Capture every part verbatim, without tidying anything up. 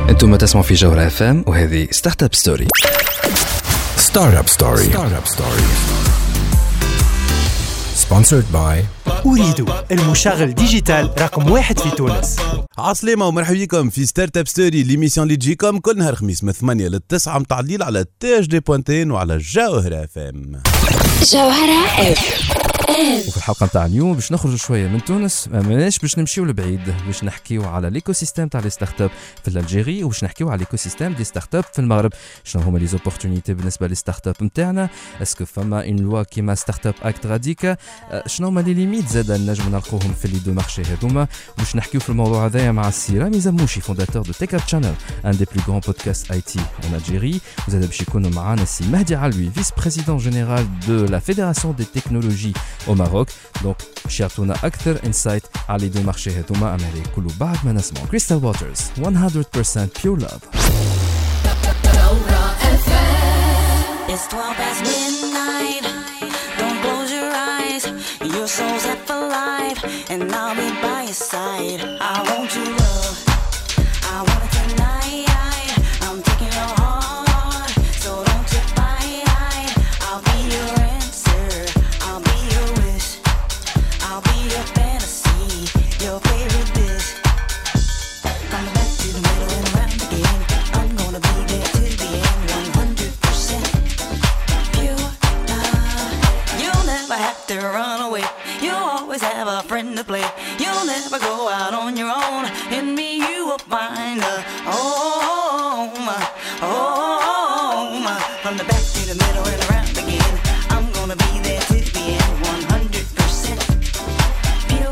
انتم تسمعوا في جوهرة اف ام وهذه ستارت اب ستوري. ستارت اب ستوري. ستارت اب ستوري. sponsored by أريد المشغل ديجيتال رقم واحد في تونس. عسلامة ومرحبا بكم في ستارت اب ستوري، ليميسيون اللي تجيكم كل نهار خميس من ثمانية للتسعة متاع الليل على تاج دي بوانتين وعلى جوهرة اف ام. جوهرة اف ام. وفي الحلقة متاع اليوم باش نخرجوا شوية من تونس، ماناش باش نمشيو لبعيد، باش نحكيو على ليكو سيستيم تاع لي ستارت اب في الجيري، وباش نحكيو على ليكو سيستيم دي ستارت اب في المغرب. شنو هما لي زوبورتونيتي بالنسبة لي ستارت اب نتاعنا؟ اسكو فما اون لوا كيما ستارت اب اكت راديكا؟ شنو هما لي ليميت زاد نجم نلقوهم في لي دو مارشي هذوما؟ باش نحكيو في الموضوع هذايا مع السي رامي زموشي فونداتور دو تيك اب شانل، ان دي بلو غران بودكاست اي تي ان الجيري. وزاد باش يكونوا معانا السي مهدي علوي فيس بريزيدون جينيرال دو لا فيدراسيون دي تكنولوجي او ماروك. دونك باش يعطونا اكثر انسايت على لي دو مارشي هذوما. اما هذه كله بعد ما نسمعوا كريستال ووترز مية بالمية بيور لاف. It's twelve past midnight. Don't close your eyes. Your soul's up for life, and I'll be by your side. I want you love. I want it tonight. I'm taking your heart, so don't you fight. I'll be your answer. I'll be your wish. I'll be your fantasy, your favorite dish. Coming back to the middle and around again. I'm gonna be there till the end, one hundred percent pure love. You'll never have to run away. You'll always have a friend to play. You'll never go out on your own. In me you will find a home, home. From the back to the middle and around again. I'm gonna be there till the end, one hundred percent pure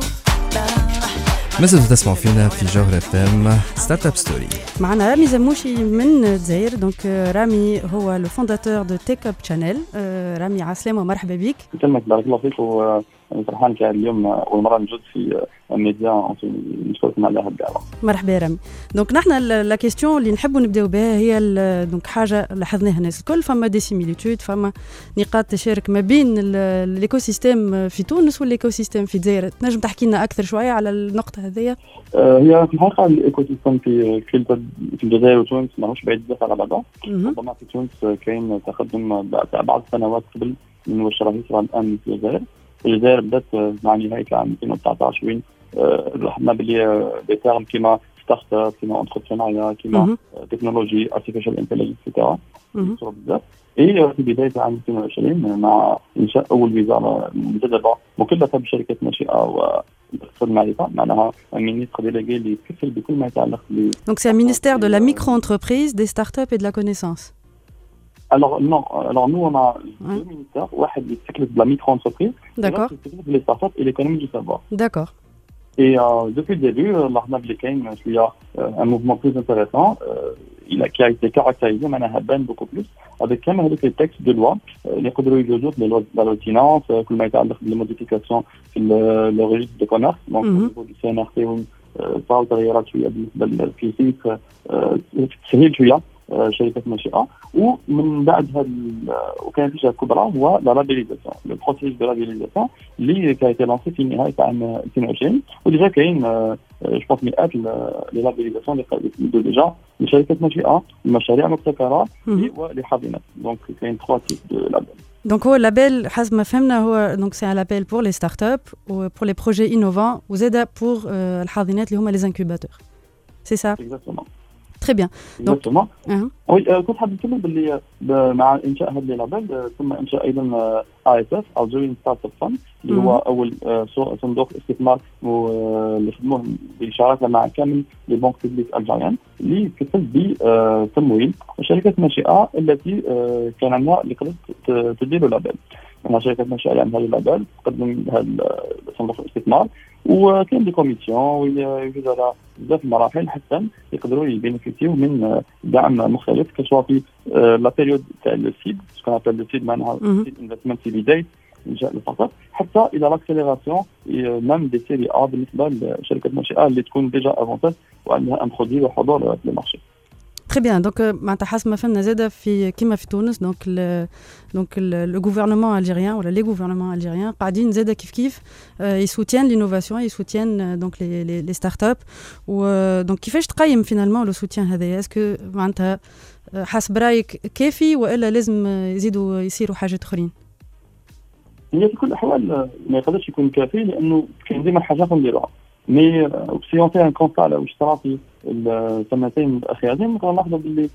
love. مازلتوا تسمعوا فينا في جوهرة اف ام ستارت اب ستوري. معنا رامي زموشي من الجزائر. دونك رامي هو لو فونداتور دو تيك اب شانل. رامي عسلامة ومرحبا بك. كلمة بارك الله فيك، وفرحان كي اليوم أول مرة نجد في الميديا نشكركم على هذه الدعوة. مرحبا رامي. دونك نحن لا كيستيون اللي نحبوا نبداو بها هي دونك حاجة لاحظناها الناس الكل، فما دي سيميليتود، فما نقاط تشارك ما بين الايكو سيستيم في تونس والايكو سيستيم في الجزائر. تنجم تحكي لنا أكثر شوية على النقطة هذه؟ هي في الحقيقة الايكو سيستيم في في الجزائر وتونس ماهوش بعيد بزاف على بعضه. ربما في تونس كاين تقدم بعض السنوات قبل من واش راه يصرى الآن في الجزائر. الجزائر بدات مع نهاية العام ألفين وتسعطاش وين لاحظنا بلي دي تيرم كيما ستارت اب، كيما انتربرونيا، كيما تكنولوجي، ارتيفيشال انتليجنس ايتترا يصيروا بزاف. اي في بداية عام ألفين وعشرين مع انشاء اول وزارة مجددة مكلفة بشركات ناشئة واقتصاد المعرفة، معناها مينيستر ديليغي اللي يتكفل بكل ما يتعلق ب دونك سي مينيستير دو لا ميكرو انتربريز دي ستارت اب اي دو لا كونيسانس. Alors non, alors nous on a deux ministères, واحد اللي يتكلف بلا ميكرو انتربريز، D'accord. يتكلف بلي ستارت اب et l'économie du savoir. D'accord. Et euh, depuis le début, لاحظنا بلي كاين شويه un mouvement plus intéressant, euh, il a qui a été caractérisé معناها بان beaucoup plus avec كامل هذوك les textes de loi اللي يقدروا يجوزوا la loi de finance، كل ما يتعلق بالموديفيكاسيون في le registre de commerce، donc au niveau du سي إن آر تي وين صاروا تغييرات شويه بالنسبه للفيسيك، تسهيل شويه شركات ناشئه. ومن بعد هذا وكان في شيء كبرى هو لا لابيليزاسيون، لو بروسيس دو لابيليزاسيون اللي كانت لانسي في نهايه عام ألفين وعشرين، وديجا كاين جو بونس مئات لي لابيليزاسيون اللي ديجا لشركات ناشئه، المشاريع المبتكره ولحاضنات. دونك كاين ثلاث تيب دو لابيل. دونك هو لابيل حسب ما فهمنا هو دونك سي ان لابيل بور لي ستارت اب و بور لي بروجي انوفون وزاده بور الحاضنات اللي هما لي انكوباتور. سي سا؟ اكزاكتومون. Très bien. Donc, uh-huh. oui, كنت حاب نتكلم باللي مع انشاء هذا اللابيل ثم انشاء ايضا اي اس اف Algerian Startup Fund اللي هو اول صندوق استثمار اللي خدموه بالشراكه مع كامل لي بنك بوبليك الجيريان اللي يكفل بتمويل الشركات الناشئه التي كان عندها اللي قدرت تدير اللابيل. مع شركات ناشئه يعني هذا اللابيل تقدم هذا صندوق الاستثمار، وكاين دي كوميسيون ويوجد على بزاف المراحل حتى يقدروا يبينيفيسيو من دعم مختلف كسوا في لا بيريود تاع السيد سكون ابل لو سيد معناها سيد انفستمنت في بدايه انشاء الستارت، حتى الى لاكسيليراسيون ميم دي سيري ا بالنسبه للشركات الناشئه اللي تكون ديجا افونتاج وعندها ان برودوي وحضور في المارشي. تري بيان. دونك معناتها حسب ما فهمنا زاده في كيما في تونس دونك ال دونك لو غوفرنمون الجيريان ولا لي غوفرنمون الجيريان قاعدين زاده كيف كيف يسوتيان لينوفاسيون يسوتيان دونك لي لي ستارت اب. ودونك كيفاش تقيم فينالمون لو سوتيان هذايا؟ اسكو معناتها حسب رايك كافي والا لازم يزيدوا يصيروا حاجات اخرين؟ هي في كل الاحوال ما يقدرش يكون كافي لانه كاين ديما حاجات نديروها. مي سي اون في ان كونستا على واش صرا في السنتين الاخيرتين نقدر نلاحظوا باللي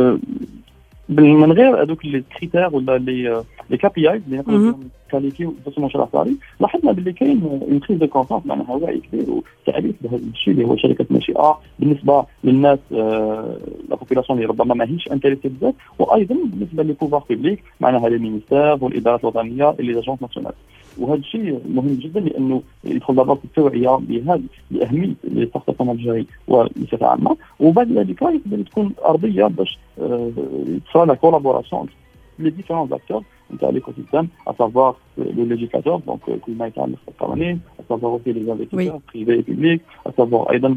من غير هذوك لي كريتير ولا لي لي كي بي اي اللي نقدروا كاليفيو باش مشروع صاري، لاحظنا باللي كاين اون كريز دو كونفونس معناها وعي كبير وتعريف بهذا الشيء اللي هو شركه ناشئه بالنسبه للناس لا بوبولاسيون اللي ربما ماهيش انتريسي بزاف، وايضا بالنسبه لي بوفوار بوبليك معناها لي مينيستير والادارات الوطنيه اللي جاجونس ناسيونال. وهذا الشيء مهم جدا لانه يدخل دابا في التوعيه بهذا باهميه لي ستارت اب الجزائري وبصفه عامه، وبعد ذلك يقدر تكون ارضيه باش تصرا لا كولابوراسيون les différents acteurs de l'écosystème, à savoir le législateur, donc كل ما يتعلق بالقوانين، à savoir aussi les investisseurs privés et publics, à savoir أيضا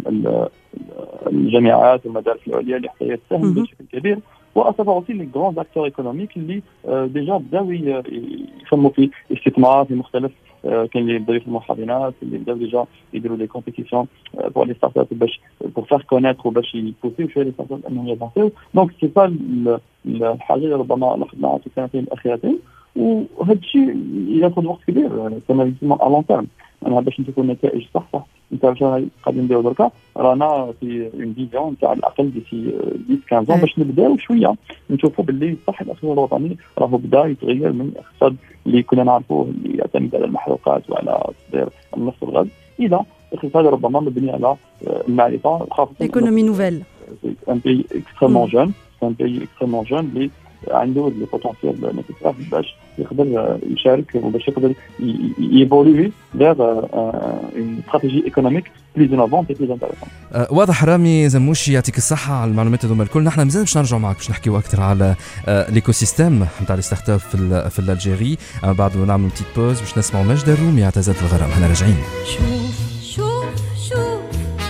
الجامعات والمدارس العليا اللي حتى تساهم بشكل كبير، و à savoir aussi les grands acteurs économiques اللي ديجا بداو يفهموا في استثمار في مختلف كاين اللي بداو يفهموا حاضنات اللي بداو ديجا يديروا لي كومبيتيسيون بور لي ستارت اب باش بور فار كونيتر وباش يبوسيو شويه لي ستارت اب انهم يافونسيو. دونك سي با الحاجه اللي ربما لاحظناها في السنتين الاخيرتين، وهذا الشيء ياخذ وقت كبير كما يسمى الون تيرم. انا باش نشوفوا النتائج صح صح انت واش قاعدين نديروا دركا رانا في اون فيزيون تاع على الاقل ديسي عشرة خمسطاش باش نبداو شويه نشوفوا باللي صح الاقتصاد الوطني راهو بدا يتغير من الاقتصاد اللي كنا نعرفوه اللي يعتمد على المحروقات وعلى تصدير النفط والغاز الى اقتصاد ربما مبني على المعرفه، خاصه ايكونومي نوفيل. ان بي اكستريمون جون ان بي اكستريمون جون اللي عنده لي بوتونسيال نيسيسير باش يقدر يشارك وباش يقدر ييفولوي فيغ اون استراتيجي ايكونوميك بليز انوفونت اي بليز انتريسون. واضح رامي زموشي يعطيك الصحه على المعلومات هذوما الكل. نحن مازال باش نرجعوا معك باش نحكيو اكثر على ليكو سيستيم نتاع لي ستارت اب في في الجزائر، بعد نعملوا بتيت بوز باش نسمعوا مجد الرومي اعتزلت الغرام. احنا راجعين. شوف شوف شوف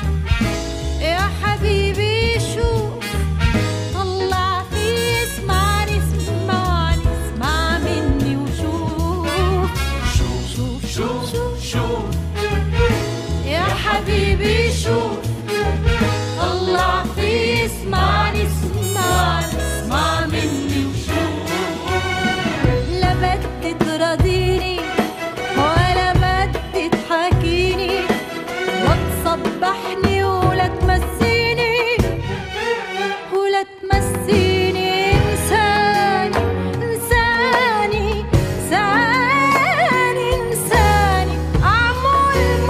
يا حبيبي شوف طلع في اسمعني اسمعني اسمع مني وشوف شوف شوف شوف شوف شوف يا حبيبي شوف طلع في اسمعني اسمعني اسمع مني وشوف لا بدي تراضيني ولا بدي تحاكيني وتصبحني ولا تمسيني ولا تمسيني إنساني إنساني إنساني إنساني أعمل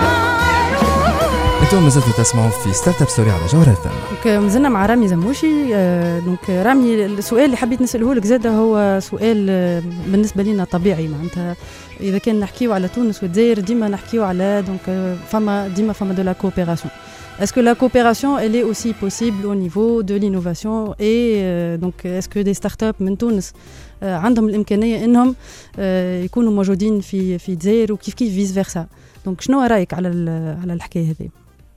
معروف. انتم مازلتوا تسمعوا في ستارت اب ستوري على جوهرة اف ام. دونك مازلنا مع رامي زموشي. دونك رامي السؤال اللي حبيت نساله لك زاده هو سؤال بالنسبه لنا طبيعي، معناتها اذا كان نحكيو على تونس والجزائر ديما نحكيو على دونك فما ديما فما دو لا كوبيراسيون. Est-ce que la coopération elle est aussi possible au niveau de l'innovation et euh, donc est-ce que des startups من تونس euh, عندهم الإمكانية إنهم euh, يكونوا موجودين في في الجزائر وكيف كيف فيس فيرسا؟ دونك شنو رأيك على على الحكاية هذه؟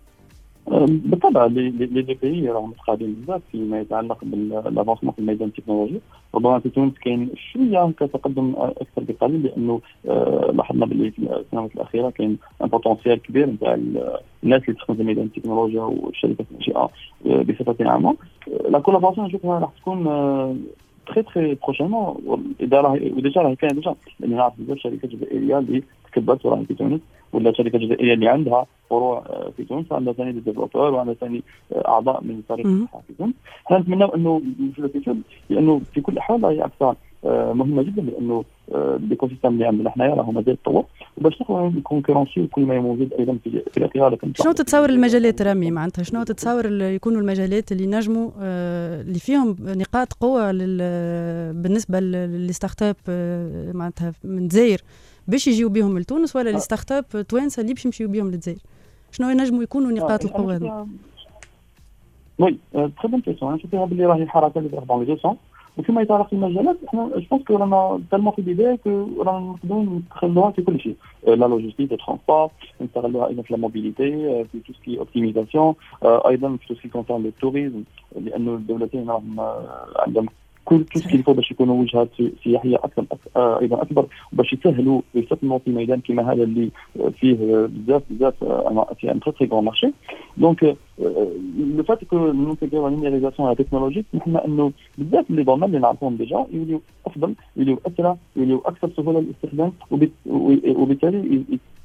بالطبع لي دي بي راهم متقابلين بزاف فيما يتعلق بالافونسمون في الميدان التكنولوجي. ربما في تونس كاين شويه كتقدم اكثر بقليل لانه لاحظنا باللي في السنوات الاخيره كاين ان بوتونسيال كبير نتاع الناس اللي تخدم في ميدان التكنولوجيا والشركات الناشئه بصفه عامه. لا كولابوراسيون نشوفها راح تكون تري تري بروشينمون، وديجا راهي كاين ديجا لان نعرف بزاف شركات جزائريه اللي تكبرت وراهي في تونس، ولا شركه جزائريه اللي عندها فروع في تونس، عندها ثاني ديفلوبور وعندها ثاني اعضاء من فريق الصحه في تونس. احنا نتمناو انه في الفيتشر لانه في كل الاحوال راهي اكثر مهمه جدا لانه الايكو سيستم اللي عندنا حنايا راهو مازال يتطور وباش نقدروا نكونكورونسيو كل ما موجود ايضا في في الاخير. شنو تتصور المجالات رامي معناتها شنو تتصور يكونوا المجالات اللي نجموا اللي فيهم نقاط قوه بالنسبه للستارت اب معناتها من الجزائر باش يجيو بهم لتونس ولا لي ستارت اب توانسه اللي باش يمشيو بهم للجزائر؟ شنو ينجموا يكونوا نقاط القوه هذو؟ وي تري بون كيسيون. نشوفها باللي راهي حركه اللي تروح دون لي دو سون. وفيما يتعلق بالمجالات احنا جو بونس كو رانا تالمون في البدايه كو رانا نقدروا نستغلوها في كل شيء. لا لوجيستيك الترونسبور نستغلوها ايضا في الموبيليتي في تو سكي اوبتيميزاسيون ايضا في تو سكي كونسيرن التوريزم لانه الدولتين راهم عندهم كل تو سكي يفضل باش يكونوا وجهات سياحيه اكثر ايضا اكبر باش يسهلوا ويستثمروا في ميدان كما هذا اللي فيه بزاف بزاف في ان تري تري غون مارشي. دونك لو فات كو نونتيغيو النيميريزاسيون لا تكنولوجي نحن انه بزاف اللي ضمن اللي نعرفهم ديجا يوليو افضل يوليو اسرع يوليو اكثر سهوله للاستخدام وبالتالي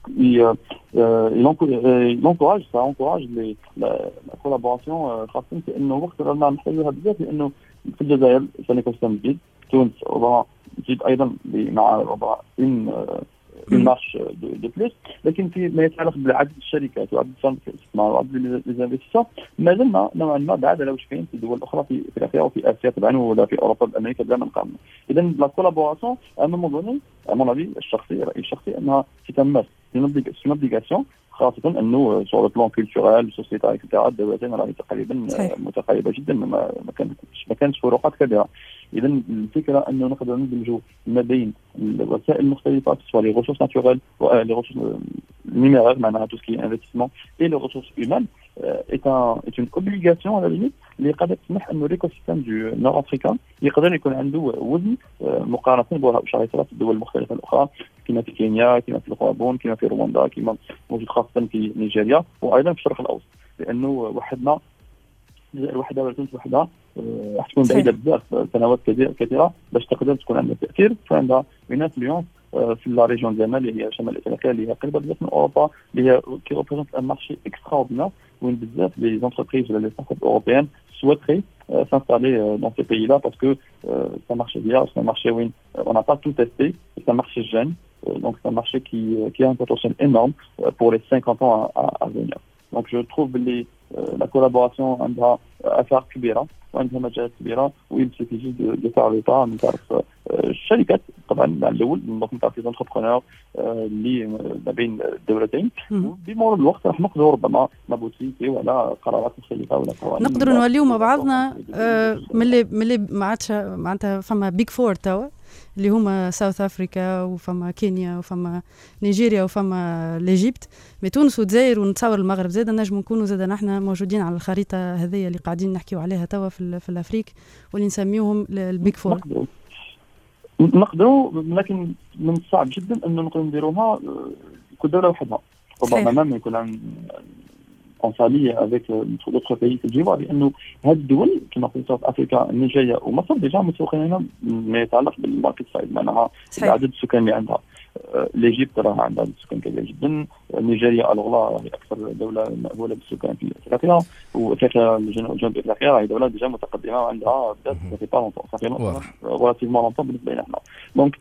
il encourage ça encourage les la, la collaboration خاصة في انه وقت رانا نحتاجوها بزاف لانه في الجزائر ثاني كوستم جديد تونس وضع جديد ايضا مع وضع ان une marche de, de plus لكن في ما يتعلق بعدد الشركات وعدد صناديق الاستثمار وعدد الانفستيسور ما زلنا نوعا ما بعد لو شفين في دول اخرى في افريقيا وفي اسيا طبعا ولا في اوروبا بامريكا بلا ما نقارن. اذا لا كولابوراسيون ا مون دوني ا مون افي الشخصي رايي الشخصي انها تتمس في اوبليغاسيون خاصة أنه سور لو بلان كولتورال سوسيتال اكسترا الدولتين راهي تقريبا متقاربة جدا ما كانتش ما كانتش فروقات كبيرة. إذا الفكرة أنه نقدر ندمجوا ما بين الوسائل المختلفة سواء لي ريسورس ناتورال و لي ريسورس numérique معناها tout ce qui est investissement et les ressources humaines est un est une obligation à la limite اللي قادر تسمح انه ليكوسيستم دو نور افريكا يقدر يكون عنده وزن مقارنه بشركات الدول المختلفه الاخرى كما في كينيا كما في الغابون كما في رواندا كما موجود خاصه في نيجيريا وايضا في الشرق الاوسط لانه وحدنا الجزائر وحدها ولا تونس وحدها راح تكون بعيده بزاف سنوات كثيره باش تقدر تكون عندها تاثير فعندها une influence في لا ريجون ديالنا اللي هي شمال افريقيا اللي هي قريبه بزاف من اوروبا اللي هي كي ريبريزونت ان مارشي اكستراوردينير وين بزاف لي زونتربريز ولا لي ستارت اب اوروبيان souhaiteraient euh, s'installer euh, dans ces pays-là parce que euh, c'est un marché vierge, c'est un marché où on n'a pas tout testé, c'est un marché jeune, euh, donc c'est un marché qui, euh, qui a un potentiel énorme euh, pour les cinquante ans à, à, à venir. Donc je trouve les, euh, la collaboration عندها أثار كبيرة وعندها مجالات كبيرة وإل suffit de, de faire le pas من طرف الشركات طبعا الأول من طرف les entrepreneurs اللي ما بين الدولتين بمرور الوقت راح نقدروا ربما نبوتيكي ولا قرارات مختلفة ولا قوانين نقدروا نوليو مع بعضنا من اللي من اللي ما عادش معناتها فما بيج فور توا اللي هما ساوث افريكا وفما كينيا وفما نيجيريا وفما ليجيبت مي تونس والجزائر ونتصور المغرب زاد نجم نكونوا زاد نحن موجودين على الخريطه هذه اللي قاعدين نحكيو عليها توا في في الافريق واللي نسميوهم البيج فور. نقدروا لكن من الصعب جدا انه نقدروا نديروها كل دوله وحدها ربما ما يكون en s'allie avec d'autres pays في الجوار لانه هذه الدول كما قلت في افريقيا نيجيريا ومصر ديجا متوقعين ما يتعلق بالماركت سايد معناها عدد السكان اللي عندها ليجيبت راه عندها سكان كبير جدا نيجيريا الوغ هي اكثر دوله مأهوله بالسكان في افريقيا وافريقيا جنوب افريقيا هي دوله ديجا متقدمه وعندها بزاف في با لونطون صافي ريلاتيفمون لونطون بالنسبه لنا حنا دونك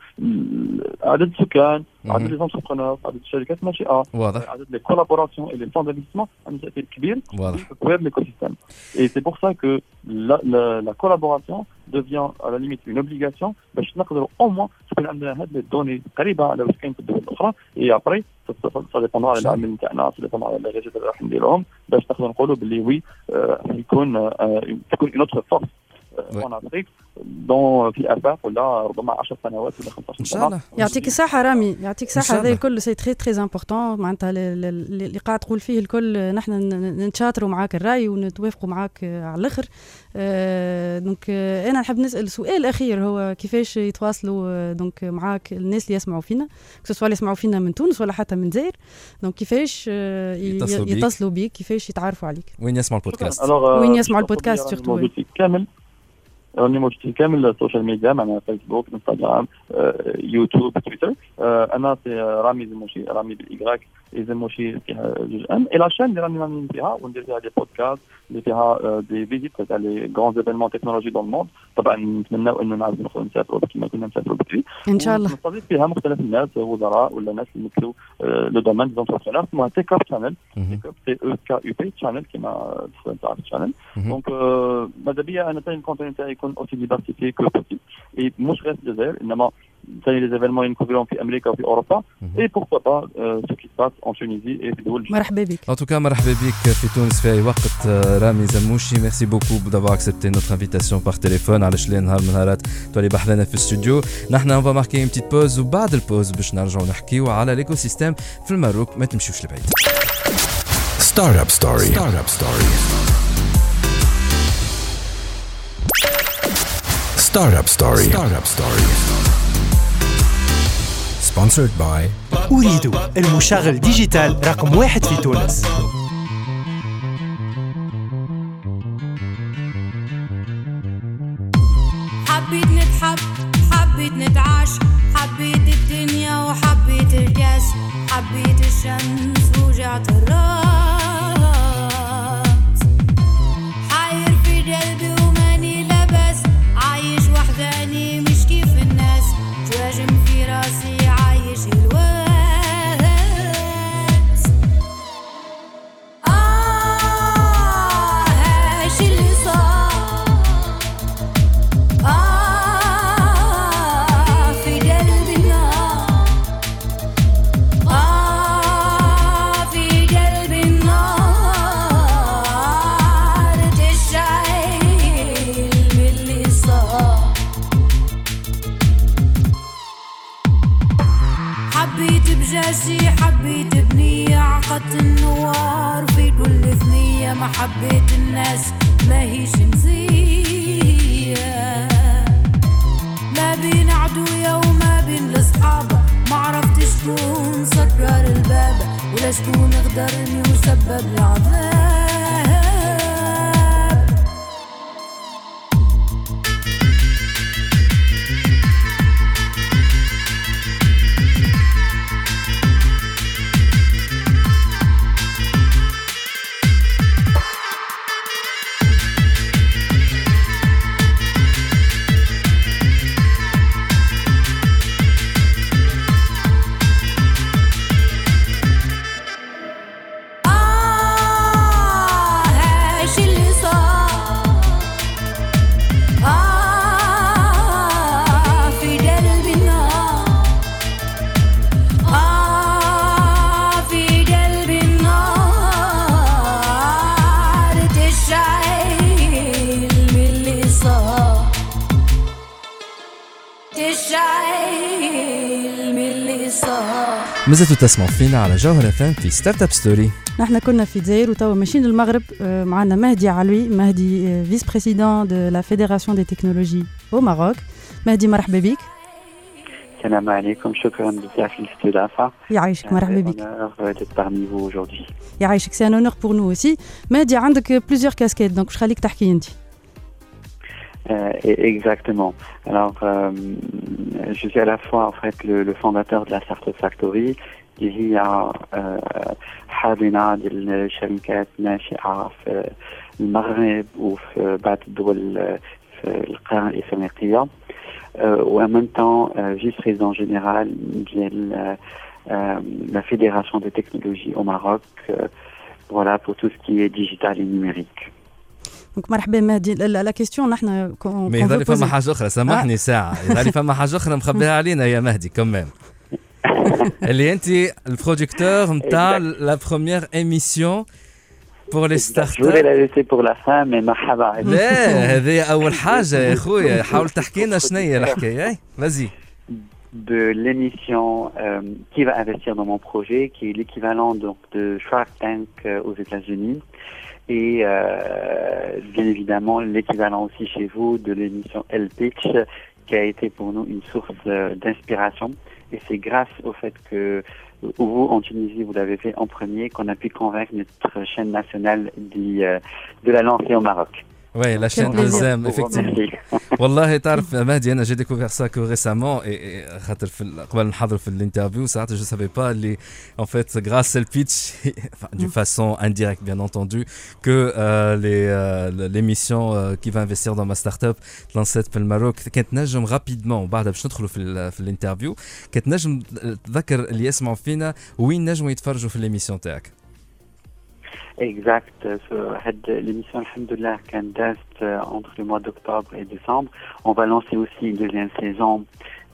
عدد السكان عدد لي زونتربرونور عدد الشركات الناشئه عدد لي كولابوراسيون اي لي فون دانفستيسمون عندهم تاثير كبير في تطوير ليكوسيستيم اي سي بور سا كو لا كولابوراسيون devient à la limite une obligation باش نقدروا au moins تكون عندنا هاد لي دوني قريبه على واش كاين في الدول الاخرى اي ابري سا ديبوندرا على العمل نتاعنا سا ديبوندرا على الريجيت اللي راح نديروهم باش نقدروا نقولوا باللي وي يكون تكون une autre force en Afrique دون في افاق ولا ربما عشر سنوات ولا خمسطاش سنه. يعطيك الصحه رامي يعطيك الصحه هذا الكل سي تري تري امبورطون معناتها اللي قاعد تقول فيه الكل نحن نتشاطروا معاك الراي ونتوافقوا معاك على الاخر. دونك انا نحب نسال سؤال اخير هو كيفاش يتواصلوا دونك معاك الناس اللي يسمعوا فينا سواء اللي يسمعوا فينا من تونس ولا حتى من الجزائر دونك كيفاش يتصلوا بيك كيفاش يتعرفوا عليك وين يسمعوا البودكاست وين يسمعوا البودكاست سورتو كامل راني موجود كامل السوشيال ميديا معنا فيسبوك انستغرام يوتيوب تويتر انا في رامي زموشي رامي بالايغراك زموشي فيها جوج ام اي لا شين اللي راني راني فيها وندير فيها دي بودكاست اللي فيها دي فيزيت تاع لي غران ايفينمون تكنولوجي دون الموند طبعا نتمناو انه نعاودوا نخرجوا نسافروا كما كنا نسافروا بكري ان شاء الله نستضيف فيها مختلف الناس وزراء ولا ناس اللي يمثلوا لو دومين دي زونتربرونور اسمها تيك اب شانل تيك اب تي او كا يو بي شانل كما تعرف شانل دونك ماذا بيا انا تاع الكونتنت تاعي يكون اوسي ديفيرسيفي كو بوسيبل اي مش غير الجزائر انما les événements ينكبرون في أمريكا وفي أوروبا et pourquoi pas euh, ce qui se passe en Tunisie et في دول. مرحبا بك. En tout cas مرحبا بك في تونس في أي وقت رامي زموشي. Merci beaucoup d'avoir accepté notre invitation par téléphone على شلي نهار من نهارات تولي بحذنا في الاستوديو. نحن on va marquer une petite pause وبعد البوز باش نرجعوا نحكيو على l'écosystème في الماروك. ما تمشيوش لبعيد. Startup Story. Startup Story. Startup Story. Startup Story. Sponsored by أريد المشغل ديجيتال رقم واحد في تونس. حبيت نتحب حبيت نتعاش حبيت الدنيا وحبيت الكاس حبيت الشمس وجعت الراس حاير في قلبي وماني لبس عايش وحداني مش كيف الناس تواجم في راسي عايش الواس آه هاش اللي صار آه في قلبي النار آه في قلبي النار تشعل باللي صار حبيت بجاسي حبيت بنية عقدت النوار في كل ثنية ما حبيت الناس ما هيش نزيه ما بين عدوية وما بين الأصحاب ما عرفتش شكون سكر الباب ولا شكون غدرني وسبب العذاب مازلتوا تسمعوا فينا على جوهر اف ام في ستارت اب ستوري. نحن كنا في الجزائر وتوا ماشيين للمغرب. معنا مهدي علوي مهدي فيس بريسيدون دو لا فيدراسيون دي تكنولوجي او ماروك. مهدي مرحبا بك. السلام عليكم شكرا بزاف للاستضافه. يعيشك مرحبا بك. parmi vous aujourd'hui. يعيشك سي ان اونور بور نو اوسي. مهدي عندك بليزيور كاسكيت دونك واش خليك تحكي انت. Euh, exactement. Alors, euh, je suis à la fois en fait le, le fondateur de la Startup Factory, qui هي حاضنة للشركات ناشئة في المغرب وفي بعض الدول في القارة الإفريقية. وen même temps vice-président général de la Fédération des technologies au Maroc, voilà pour tout ce qui est digital et numérique. دونك مرحبا مهدي. لا كيستيون نحن مي يظهر لي فما حاجه اخرى سامحني آه. ساعه يظهر لي فما حاجه اخرى مخبيها علينا يا مهدي كمان اللي انت البروديكتور نتاع لا بروميير ايميسيون بور لي ستارت اب. جو لا ليسي بور لا فان مي مرحبا. لا هذه اول حاجه يا خويا. حاول تحكي لنا شنو هي الحكايه. اي فازي. de l'émission euh, qui va investir dans mon projet, qui est l'équivalent donc de Shark Tank euh, aux États-Unis. Et euh, bien évidemment l'équivalent aussi chez vous de l'émission L-Pitch qui a été pour nous une source euh, d'inspiration. Et c'est grâce au fait que vous en Tunisie vous l'avez fait en premier qu'on a pu convaincre notre chaîne nationale d'y, euh, de la lancer au Maroc. Oui, la chaîne Elzem, effectivement. والله تعرف مهدي أنا j'ai découvert ça que récemment et خاطر في قبل نحضر في l'interview ساعات je savais pas les en fait grâce au pitch d'une façon indirecte bien entendu que euh, les euh, l'émission euh, qui va investir dans ma start-up lancée في الماروك كانت نجم rapidement وبعدها باش ندخلوا في في l'interview كانت نجم تذكر اللي يسمعوا فينا وين نجموا يتفرجوا في l'émission تاعك. Exact. L'émission, alhamdoulilah, qui date entre le mois d'octobre et décembre. On va lancer aussi une deuxième saison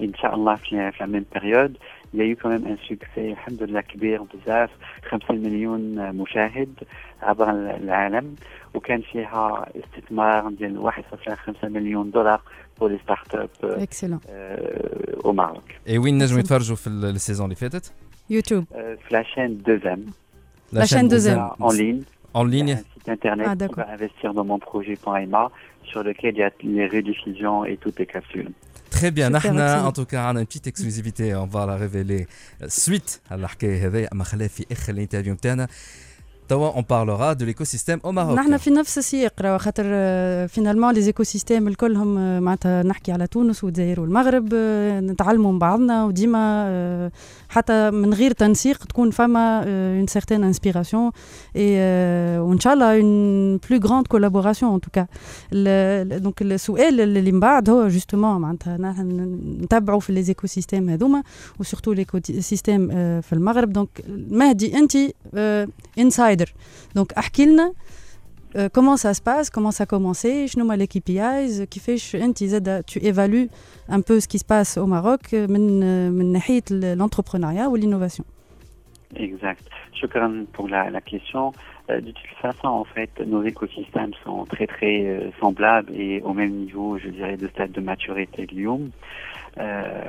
Inch'Allah, في la même période, il y a eu quand même un succès, alhamdoulilah, كبير بزاف، خمسين مليون مشاهد عبر العالم، وكان فيها استثمار ديال واحد فاصلة خمسة مليون دولار pour les startups euh, au Maroc. Et وين نجموا يتفرجوا في السيزون اللي فاتت؟ يوتيوب. في la chaîne deux M. La chaîne deux M. En ligne. En ligne. Un site internet ah, pour investir dans mon projet.ma sur lequel il y a les rediffusions et toutes les capsules. Très bien, نحن en tout cas عندنا une petite exclusivité, on va la révéler suite à الحكاية هذه أما خليها في آخر الانترفيو نتاعنا. On parlera de l'écosystème au Maroc. نحن في نفس السياق راه خاطر فينالمون لي ايكوسيستيم الكلهم معناتها نحكي على تونس والجزائر والمغرب نتعلموا من بعضنا وديما حتى من غير تنسيق تكون فما une certaine inspiration et وان شاء الله une plus grande collaboration en tout cas. دونك السؤال اللي من بعد هو جوستومون معناتها نحن نتبعوا في لي ايكوسيستيم هذوما وسورتو ليكوسيستيم في المغرب. دونك مهدي انت انسايدر Donc, أحكي euh, comment ça se passe, comment ça a commencé, شنو هما les K P Is, كيفاش أنت زاد tu évalues un peu ce qui se passe au Maroc من من ناحية l'entrepreneuriat ou l'innovation. Exact. Shukran pour la, la question. Euh, de toute façon, en fait, nos écosystèmes sont très très euh, semblables et au même niveau, je dirais, de stade de maturité de Lyon. Euh,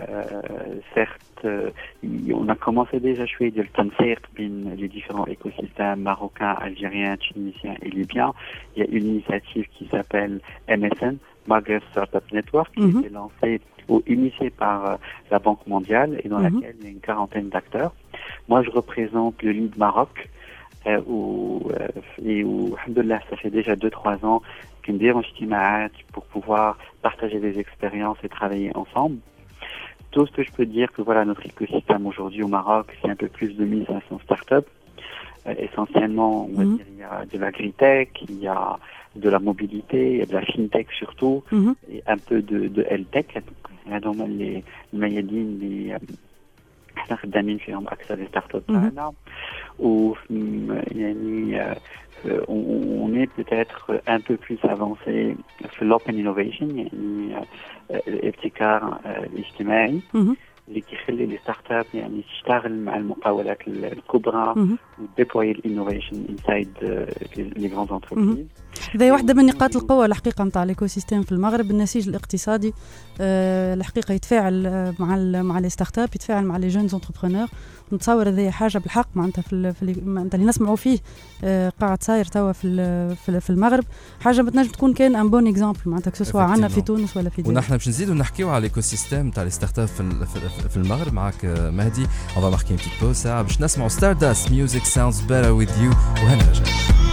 certes, euh, on a commencé déjà à jouer de les différents écosystèmes marocains, algériens, tunisiens et libyens. Il y a une initiative qui s'appelle M S N, Maghreb Startup Network, qui mm-hmm. a été lancée ou initiée par euh, la Banque mondiale et dans mm-hmm. laquelle il y a une quarantaine d'acteurs. Moi, je représente le Lead Maroc. Euh, où, euh, et où, alhamdoulilah, ça fait déjà deux trois ans qu'une démarche pour pouvoir partager des expériences et travailler ensemble. Tout ce que je peux dire que voilà, notre écosystème aujourd'hui au Maroc, c'est un peu plus de mise à son start-up. Euh, essentiellement, on va mmh. dire, il y a de l'agritech, il y a de la mobilité, il y a de la fintech surtout, mmh. et un peu de, de health-tech. Il y a donc les mayadines, les احنا خدامين فيهم اكثر الستارت تاعنا و يعني on est peut-être un peu plus avancé في l'open innovation يعني الابتكار الاجتماعي اللي كيخلي لي ستارت اب يعني تشتغل مع المقاولات الكبرى وديبلوي الانوفيشن انسايد لي غراند انتربريز. هذه واحدة من نقاط القوة الحقيقة نتاع الايكوسيستيم في المغرب. النسيج الاقتصادي أه الحقيقة يتفاعل مع ال مع لي ستارت اب، يتفاعل مع لي جونز انتربرونور. نتصور هذه حاجة بالحق معناتها في في معناتها اللي نسمعوا فيه أه قاعد صاير توا في في المغرب حاجة بتنجم تكون كان ان بون اكزامبل معناتها سواء عندنا في تونس ولا في الجزائر. ونحن باش نزيدوا نحكيوا على الايكوسيستيم تاع لي ستارت اب في, في المغرب معك مهدي. on va marquer une petite pause ساعة باش نسمعوا Stardust Music Sounds Better With You وهنرجع.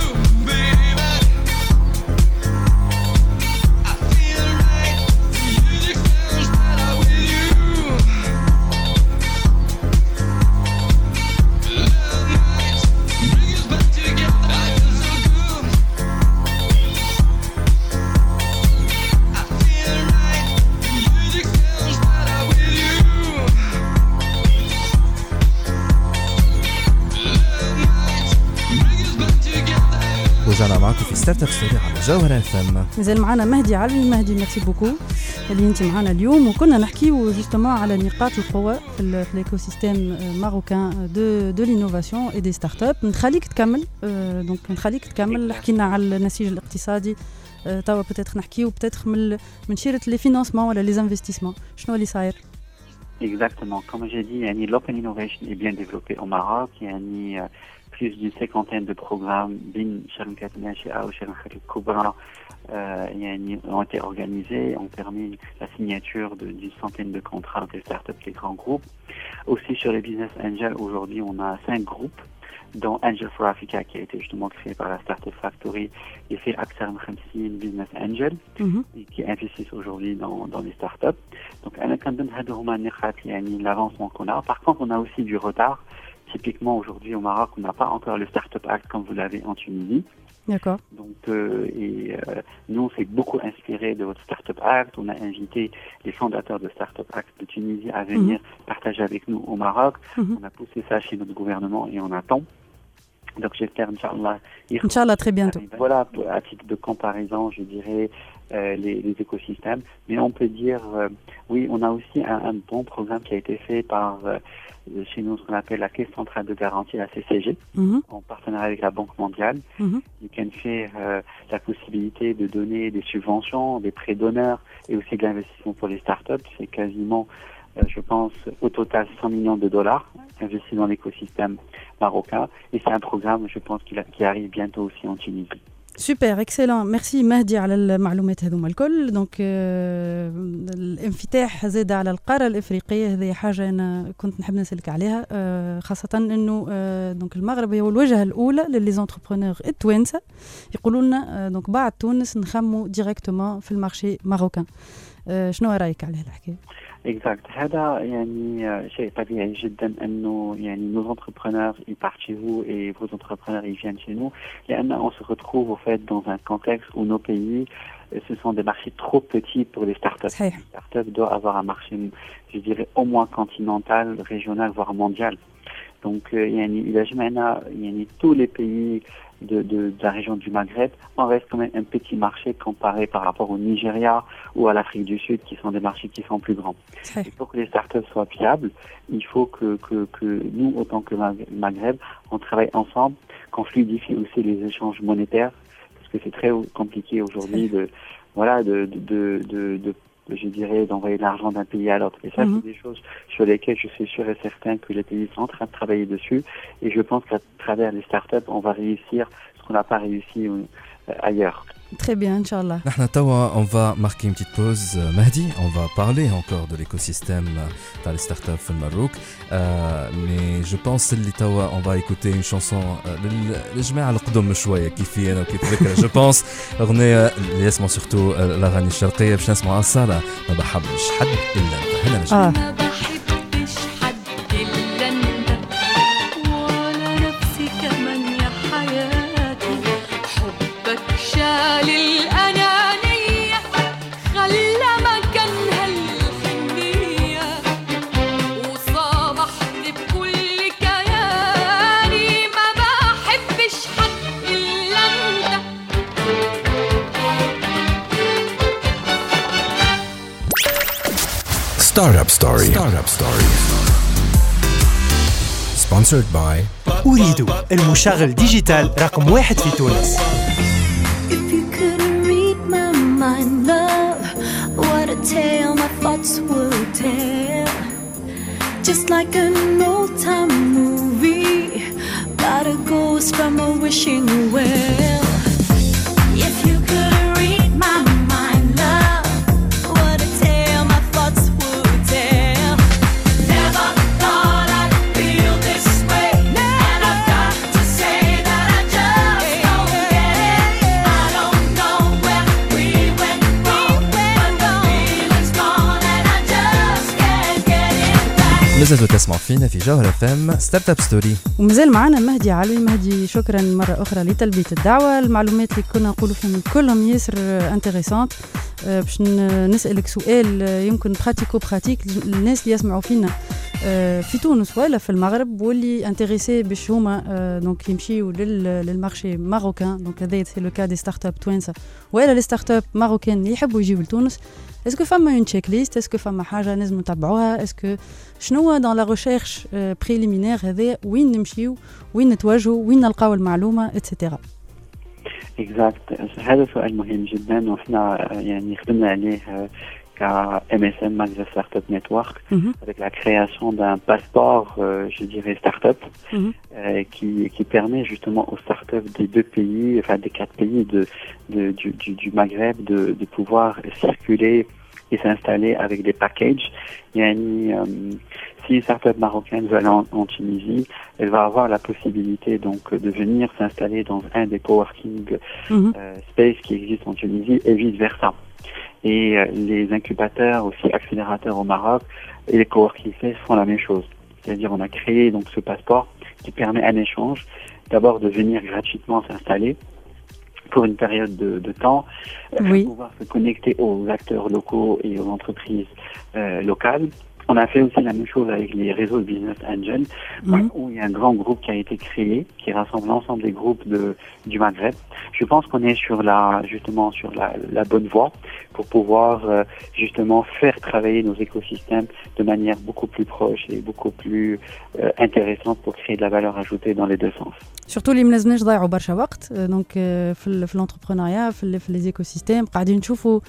رجعنا معكم في ستارت اب ستوري على جوهرة اف ام. مازال معنا مهدي علوي. مهدي ميرسي بوكو اللي انت معنا اليوم، وكنا نحكيو جوستومون على نقاط القوة في الايكوسيستيم ماروكان دو دو لينوفاسيون اي دي ستارت اب. نخليك تكمل دونك نخليك تكمل حكينا على النسيج الاقتصادي توا بتاتخ نحكيو بتاتخ من من شيرة لي فينانسمون ولا لي انفستيسمون شنو اللي صاير. Exactement, comme j'ai dit, yani, l'open innovation est bien développé au Maroc. Yani, plus d'une cinquantaine de programmes bin Sharkat Nashi'a ou Sharkat Kubra ont été organisés, ont permis la signature de, d'une centaine de contrats des startups, des grands groupes. Aussi sur les business angels, aujourd'hui on a cinq groupes, dont Angel for Africa qui a été justement créé par la Startup Factory et fait Aksar Khamsin Business Angel mm-hmm. et qui investissent aujourd'hui dans, dans les startups. Donc l'avancement qu'on a. Par contre, on a aussi du retard. Typiquement, aujourd'hui, au Maroc, on n'a pas encore le Startup Act comme vous l'avez en Tunisie. D'accord. Donc, euh, et euh, nous, on s'est beaucoup inspiré de votre Startup Act. On a invité les fondateurs de Startup Act de Tunisie à venir mm-hmm. partager avec nous au Maroc. Mm-hmm. On a poussé ça chez notre gouvernement et on attend. Donc j'espère, Inch'Allah. Inch'Allah, très bientôt. Voilà, à titre de comparaison, je dirais euh, les, les écosystèmes. Mais on peut dire, euh, oui, on a aussi un, un bon programme qui a été fait par, euh, chez nous, ce qu'on appelle la Caisse centrale de garantie, la C C G, mm-hmm. en partenariat avec la Banque mondiale. Mm-hmm. Ils can faire euh, la possibilité de donner des subventions, des prêts d'honneur et aussi de l'investissement pour les startups. C'est quasiment, euh, je pense, au total cent millions de dollars investis dans l'écosystème marocain. Et c'est un programme, je pense, qui, qui arrive bientôt aussi en Tunisie. سوبر اكسلون ميرسي مهدي على المعلومات هذوما الكل. دونك آه الانفتاح زاد على القاره الافريقيه، هذه حاجه انا كنت نحب نسالك عليها، آه خاصه انه آه دونك المغرب هو الوجهه الاولى للي زونتربرونور التوانسه، يقولوا لنا آه دونك بعد تونس نخموا ديريكتومون في المارشي ماروكان. آه شنو رايك على هالحكايه؟ Exact. هذا يعني شيء طبيعي جدا انه يعني nos entrepreneurs ils partent chez vous et vos entrepreneurs ils viennent chez nous. لأن on se retrouve au fait dans un contexte où nos pays ce sont des marchés trop petits pour les startups. صحيح. Les startups doivent avoir un marché, je dirais au moins continental, régional, voire mondial. Donc يعني إذا جمعنا يعني tous les pays De, de, de la région du Maghreb, on reste quand même un petit marché comparé par rapport au Nigeria ou à l'Afrique du Sud, qui sont des marchés qui sont plus grands. Et pour que les startups soient viables, il faut que, que, que nous, autant que Maghreb, on travaille ensemble, qu'on fluidifie aussi les échanges monétaires, parce que c'est très compliqué aujourd'hui de, voilà, de, de, de, de, de je dirais, d'envoyer de l'argent d'un pays à l'autre. Et ça, mm-hmm. c'est des choses sur lesquelles je suis sûr et certain que les pays sont en train de travailler dessus. Et je pense qu'à travers les startups, on va réussir ce qu'on n'a pas réussi euh, ailleurs. Très bien, Inch'Allah. On va marquer une petite pause, Mahdi. On va parler encore de l'écosystème dans les startups au Maroc. Euh, mais je pense que on va écouter une chanson للجماعة القدم شوية كيفي أنا وكيف je pense أغنية اللي يسمع surtout الأغاني الشرقية باش نسمع أصالة ما بحبش حد إلا أنت. هنا نجم. ما بحبش حد إلا أنت ولا نفسي كمان يا حياتي. حبك شال الأنانية خلى مكانها الحنية وصامحت بكل كياني. ما بحبش حد إلا أنت. Startup Story. Startup Story. Sponsored by أريد المشغل ديجيتال رقم واحد في تونس. If you could read my mind, love, what a tale my thoughts would tell. Just like an old-time movie, got a ghost from a wishing well. If you could read my mind, love, what a tale my thoughts would tell. Never thought I'd feel this way, and I've got to say that I just don't get it. I don't know where we went wrong, but the feeling's gone and I just can't get it back. لازم تسمعوا فينا في جوهرة اف ام ستارت اب ستوري. ومازال معنا مهدي علوي. مهدي شكرا مرة أخرى لتلبية الدعوة. المعلومات اللي كنا نقولوا فيهم كلهم ياسر انتريسانت. باش نسألك سؤال يمكن براتيكو براتيك للناس اللي يسمعوا فينا في تونس ولا في المغرب واللي انتريسي باش هما دونك يمشيوا للمارشي ماروكان. دونك هذا سي لو كا دي ستارت اب توانسه ولا لي ستارت اب ماروكان يحبوا يجيو لتونس. اسكو فما اون تشيك ليست؟ اسكو فما حاجه لازم نتبعوها؟ اسكو شنو دون لا ريشيرش بريليمينير هذا وين نمشيو وين نتواجهوا وين نلقاو المعلومه اتسيتيرا؟ Exact. هذا سؤال مهم جدا وإحنا يعني خدمنا عليه ك M S M Maghreb Startup Network mm-hmm. avec la création d'un passeport, euh, je dirais startup, mm-hmm. euh, qui qui permet justement aux startups des deux pays, enfin des quatre pays de, de du, du du Maghreb de de pouvoir circuler et s'installer avec des packages. Yani, euh, si une startup marocaine veut aller en, en Tunisie, elle va avoir la possibilité donc de venir s'installer dans un des coworking mm-hmm. euh, space qui existent en Tunisie et vice versa. Et euh, les incubateurs, aussi accélérateurs au Maroc, et les coworking space font la même chose. C'est-à-dire, on a créé donc ce passeport qui permet un échange, d'abord de venir gratuitement s'installer pour une période de, de temps, oui. pouvoir se connecter aux acteurs locaux et aux entreprises euh, locales, On a fait aussi la même chose avec les réseaux de Business Angel, mm-hmm. où il y a un grand groupe qui a été créé, qui rassemble l'ensemble des groupes de, du Maghreb. Je pense qu'on est sur la, justement, sur la, la bonne voie pour pouvoir euh, justement faire travailler nos écosystèmes de manière beaucoup plus proche et beaucoup plus euh, intéressante pour créer de la valeur ajoutée dans les deux sens. Surtout اللي ما لازمناش نضيعوا برشا وقت دونك في في الانتربرونيا في في لي ايكوسيستيم قاعدين نشوفوا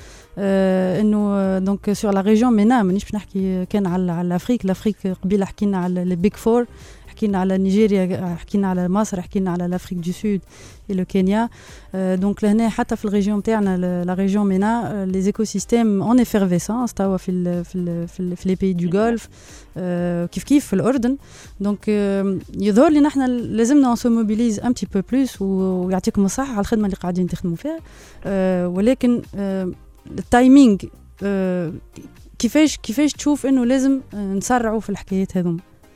انه دونك سور لا ريجيون مينا مانيش باش نحكي كان على على افريك لافريك قبيله حكينا على لي بيج فور حكينا على نيجيريا حكينا على مصر حكينا على لافريك دو سود et le Kenya دونك لهنا حتى في الريجيون نتاعنا لا ريجيون مينا لي ايكوسيستيم اون افيرفيسانس توا في ال في ال في, في لي بي دو غولف كيف كيف في الاردن دونك يظهر لي نحن لازمنا نسو موبيليز ان بتي بو بلوس ويعطيكم الصحه على الخدمه اللي قاعدين تخدموا فيها ولكن التايمينغ كيفاش كيفاش تشوف انه لازم نسرعوا في الحكايات هذوما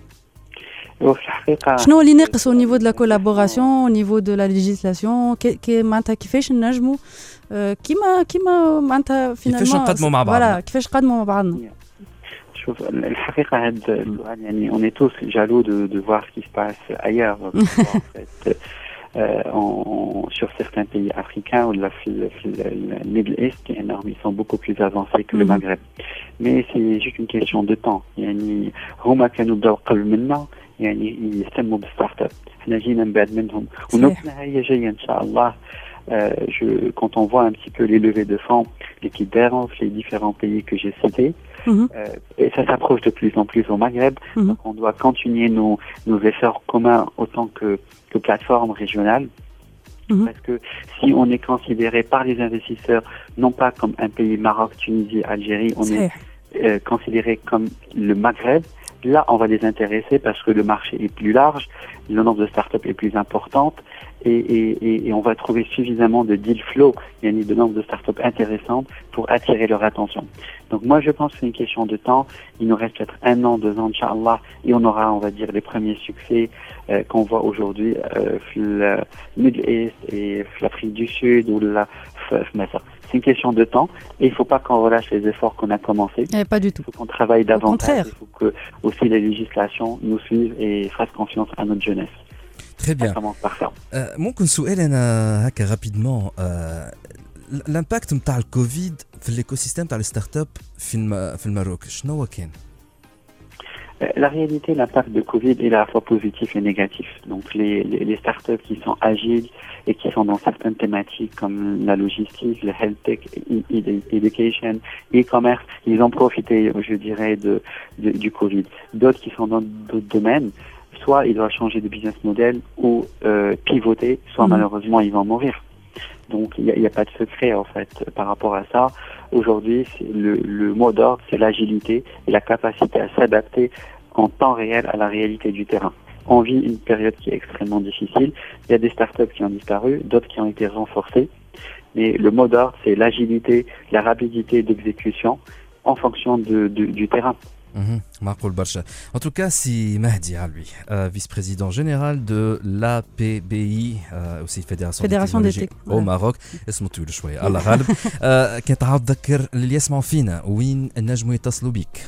وفي الحقيقة شنو اللي ناقص au niveau de la collaboration au niveau de la législation كي معناتها كيفاش ننجموا كيما كيما معناتها فينالمون كيفاش نقدموا مع بعضنا كيفاش نقدموا مع بعضنا شوف الحقيقة هاد السؤال يعني on est tous jaloux de de voir ce qui se passe ailleurs en fait Euh, en, sur certains pays africains ou le Middle East qui est énorme, ils sont beaucoup plus avancés que mm-hmm. le Maghreb. Mais c'est juste une question de temps. يعني هما كانوا بداو قبل منا يعني يهتموا بالستارت اب. احنا جينا من بعد منهم ونوبنا هي جاية إن شاء الله. Euh, je, quand on voit un petit peu les levées de fonds, l'équivalence, les différents pays que j'ai cités, mmh. euh, et ça s'approche de plus en plus au Maghreb. Mmh. Donc on doit continuer nos, nos efforts communs autant que, que plateforme régionale. Mmh. Parce que si on est considéré par les investisseurs, non pas comme un pays Maroc, Tunisie, Algérie, on est euh, considéré comme le Maghreb. Là, on va les intéresser parce que le marché est plus large, le nombre de startups est plus important et, et, et, et on va trouver suffisamment de deal flow, il y a de nombre de startups intéressantes pour attirer leur attention. Donc moi, je pense que c'est une question de temps. Il nous reste peut-être un an, deux ans, Inch'Allah, et on aura, on va dire, les premiers succès euh, qu'on voit aujourd'hui euh, le Middle East et l'Afrique du Sud ou la C'est une question de temps et il ne faut pas qu'on relâche les efforts qu'on a commencés. Et pas du tout. Il faut qu'on travaille davantage. Il faut que aussi les législations nous suivent et fassent confiance à notre jeunesse. Très bien. Ça commence par ça. ممكن سؤال أنا هكا rapidement l'impact نتاع الكوفيد في l'écosystème تاع الستارت اب في في الماروك شنو كان؟ La réalité, l'impact de Covid est à la fois positif et négatif. Donc les, les, les startups qui sont agiles et qui sont dans certaines thématiques comme la logistique, le health tech, education, e-commerce, ils ont profité, je dirais, de, de, du Covid. D'autres qui sont dans d'autres domaines, soit ils doivent changer de business model ou euh, pivoter, soit mmh. malheureusement ils vont mourir. Donc il n'y a, a pas de secret en fait par rapport à ça. Aujourd'hui, c'est le, le mot d'ordre, c'est l'agilité et la capacité à s'adapter en temps réel à la réalité du terrain. On vit une période qui est extrêmement difficile. Il y a des startups qui ont disparu, d'autres qui ont été renforcées. Mais le mot d'ordre, c'est l'agilité, la rapidité d'exécution en fonction de, de, du terrain. معقول برشا. En tout cas, c'est Mahdi Alwi, euh, vice-président général de l'A P B I, euh, aussi Fédération, Fédération des technologies au Maroc. اسمه طويل شوية الله غالب. كنت عاود تذكر اللي يسمعوا فينا وين نجموا يتصلوا بيك.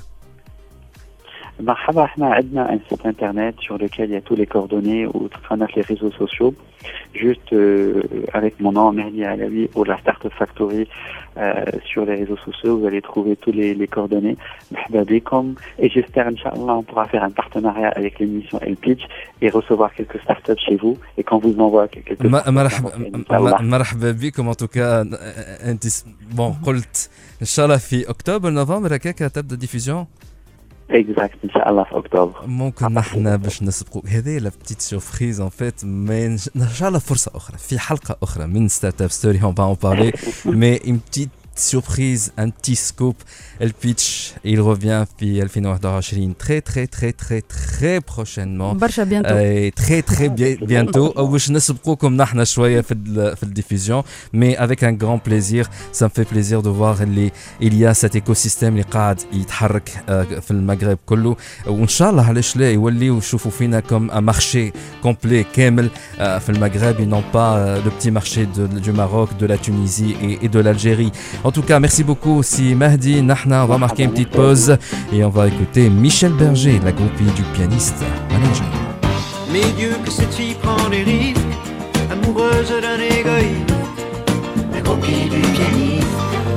مرحبا احنا عندنا un site internet sur lequel il y a tous les coordonnées ou تقنات les réseaux sociaux juste euh, avec mon nom Mahdi Alaoui ou la Startup Factory euh, sur les réseaux sociaux vous allez trouver tous les, les coordonnées مرحبا بكم et j'espère Inch'Allah on pourra faire un partenariat avec l'émission El Pitch et recevoir quelques startups chez vous et qu'on vous envoie quelques مرحبا مرحبا بكم en tout cas انت bon قلت ان شاء الله في اكتوبر نوفمبر هكاك تبدا ديفيزيون اكزاكت ان شاء الله في اكتوبر ممكن نحن باش نسبقوا هذه لا بتيت سوربريز ان فيت مي ان شاء الله فرصه اخرى في حلقه اخرى من ستارت اب ستوري اون با اون بارلي مي une petite surprise, un petit scoop. El Pitch, il revient في ألفين وواحد وعشرين très très très très très prochainement. برشا bientôt. Et très très bientôt. باش نسبقوكم نحن شويه في في الديفيزيون, mais avec un grand plaisir. Ça me fait plaisir de voir اللي il y a cet écosystème اللي قاعد يتحرك في المغرب كله, وان شاء الله علاش لا يوليو يشوفوا فينا comme un marché complet كامل في المغرب et non pas le petit marché de, du Maroc, de la Tunisie et, et de l'Algérie. En tout cas, merci beaucoup si Mahdi. Nahna, on va marquer une petite pause et on va écouter Michel Berger, la groupie du pianiste. Allez, mais Dieu que cette fille prend des risques, amoureuse d'un égoïste, la groupie du pianiste.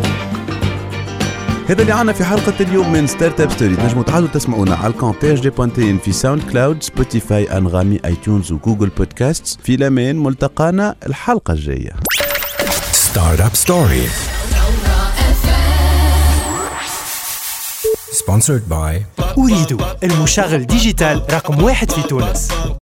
هذا اللي عنا في حلقة اليوم من ستارت اب ستوري. تنجموا تعالوا تسمعونا على الكون تي اش دي بوانتين في ساوند كلاود، سبوتيفاي، انغامي، اي تيونز وجوجل بودكاست. في الامان، ملتقانا الحلقة الجاية. ستارت اب ستوري sponsored by أريد المشغل ديجيتال رقم واحد في تونس.